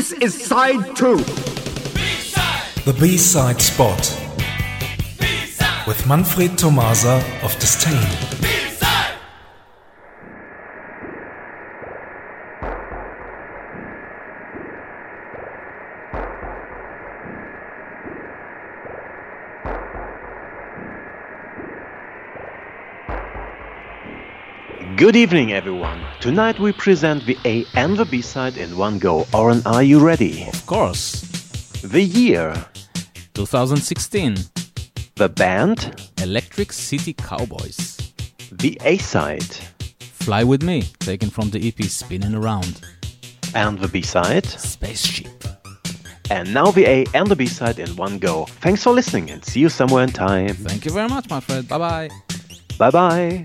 This is side 2. The B-side spot. With Manfred Tomasa of Disdain. Good evening, everyone. Tonight we present the A and the B side in one go. Oren, are you ready? Of course. The year. 2016. The band. Electric City Cowboys. The A side. Fly With Me, taken from the EP Spinning Around. And the B side. Spaceship. And now the A and the B side in one go. Thanks for listening and see you somewhere in time. Thank you very much, my friend. Bye-bye. Bye-bye.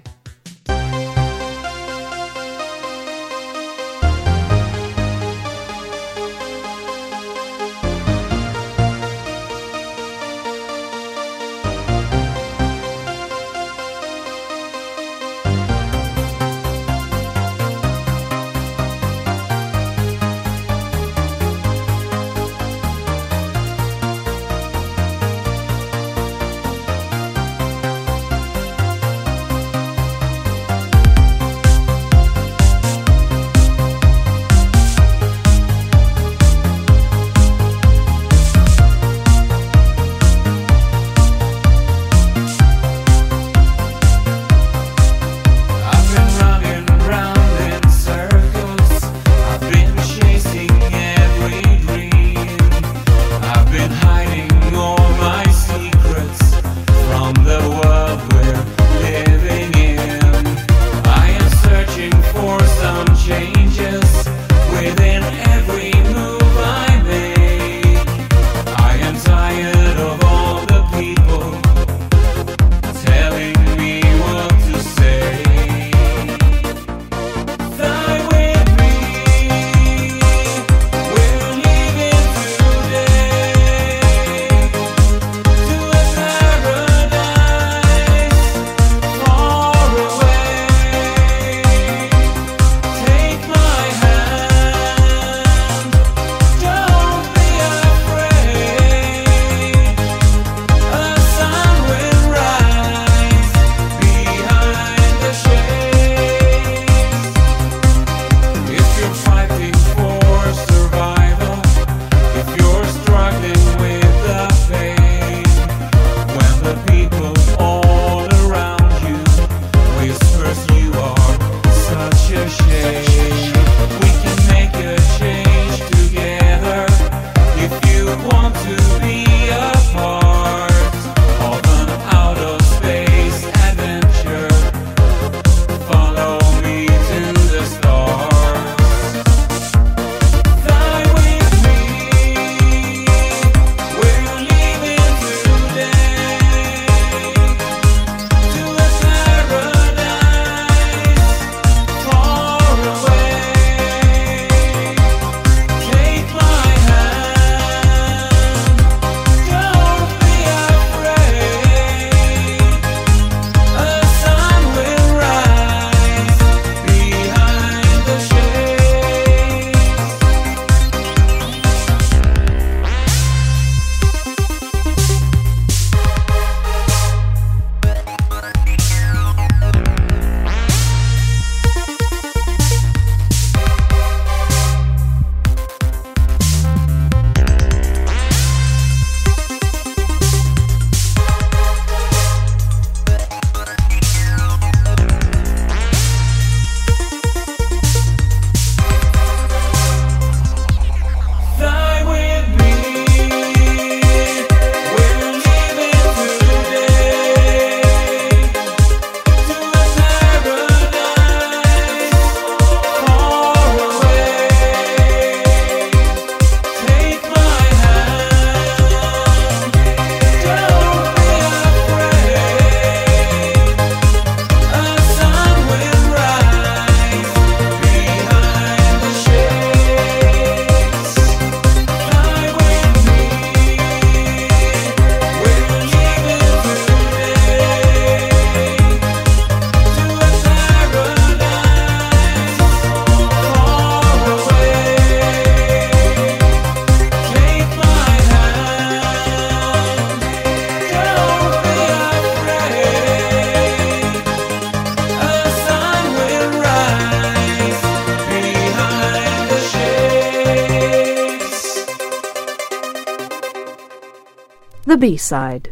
The B-Side.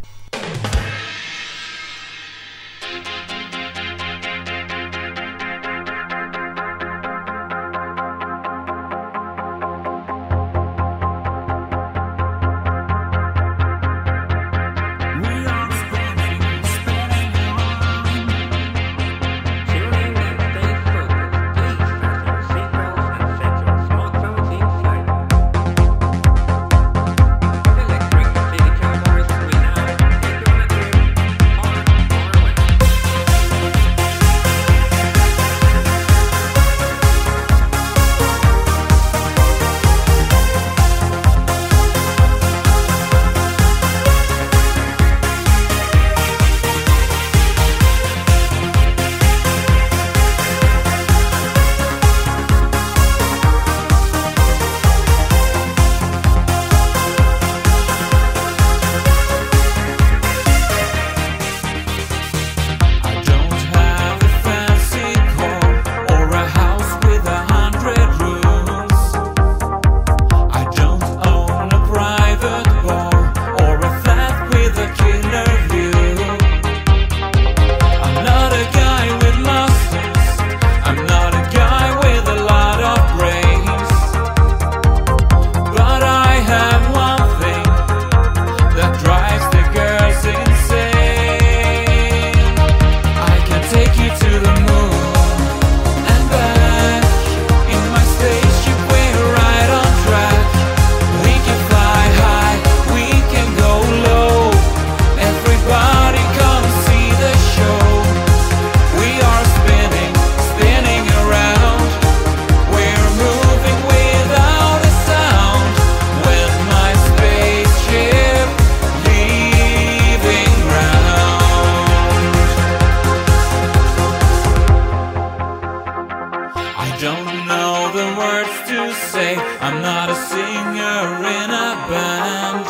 I'm not a singer in a band.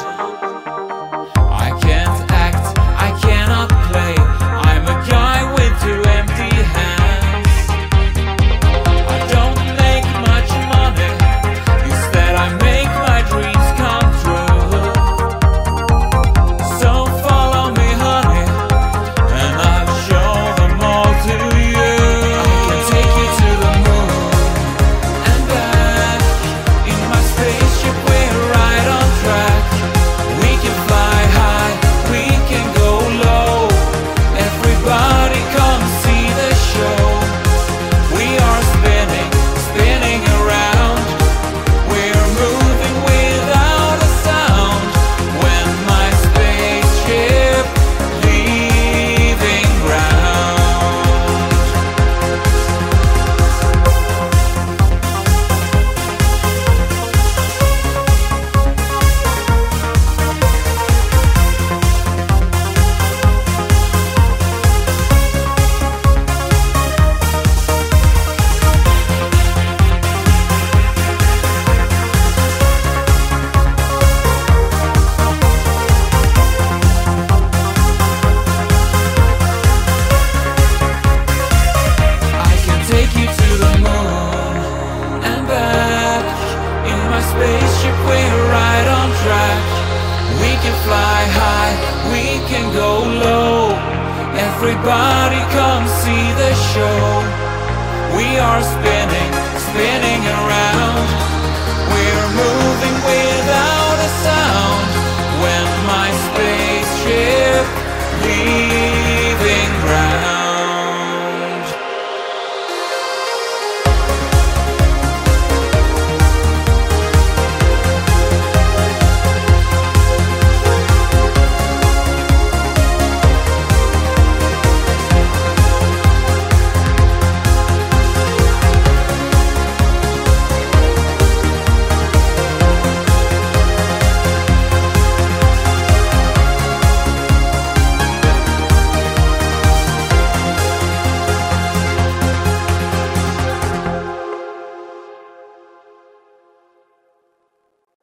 I can't act, I cannot play. I'm a guy with two empty hands. I don't make much money, instead I make my dreams come true. So follow me, honey, and I'll show them all to you. I can take you to the moon and back. In my spaceship we're right on track. We can fly high, we can go low. Everybody come see the show. We are spinning, spinning around. We're moving without a sound. When my spaceship leaving ground. I can take you to the moon and back. In my spaceship we're right on track. We can fly high, we can go low. Everybody come see the show. We are spinning, spinning around.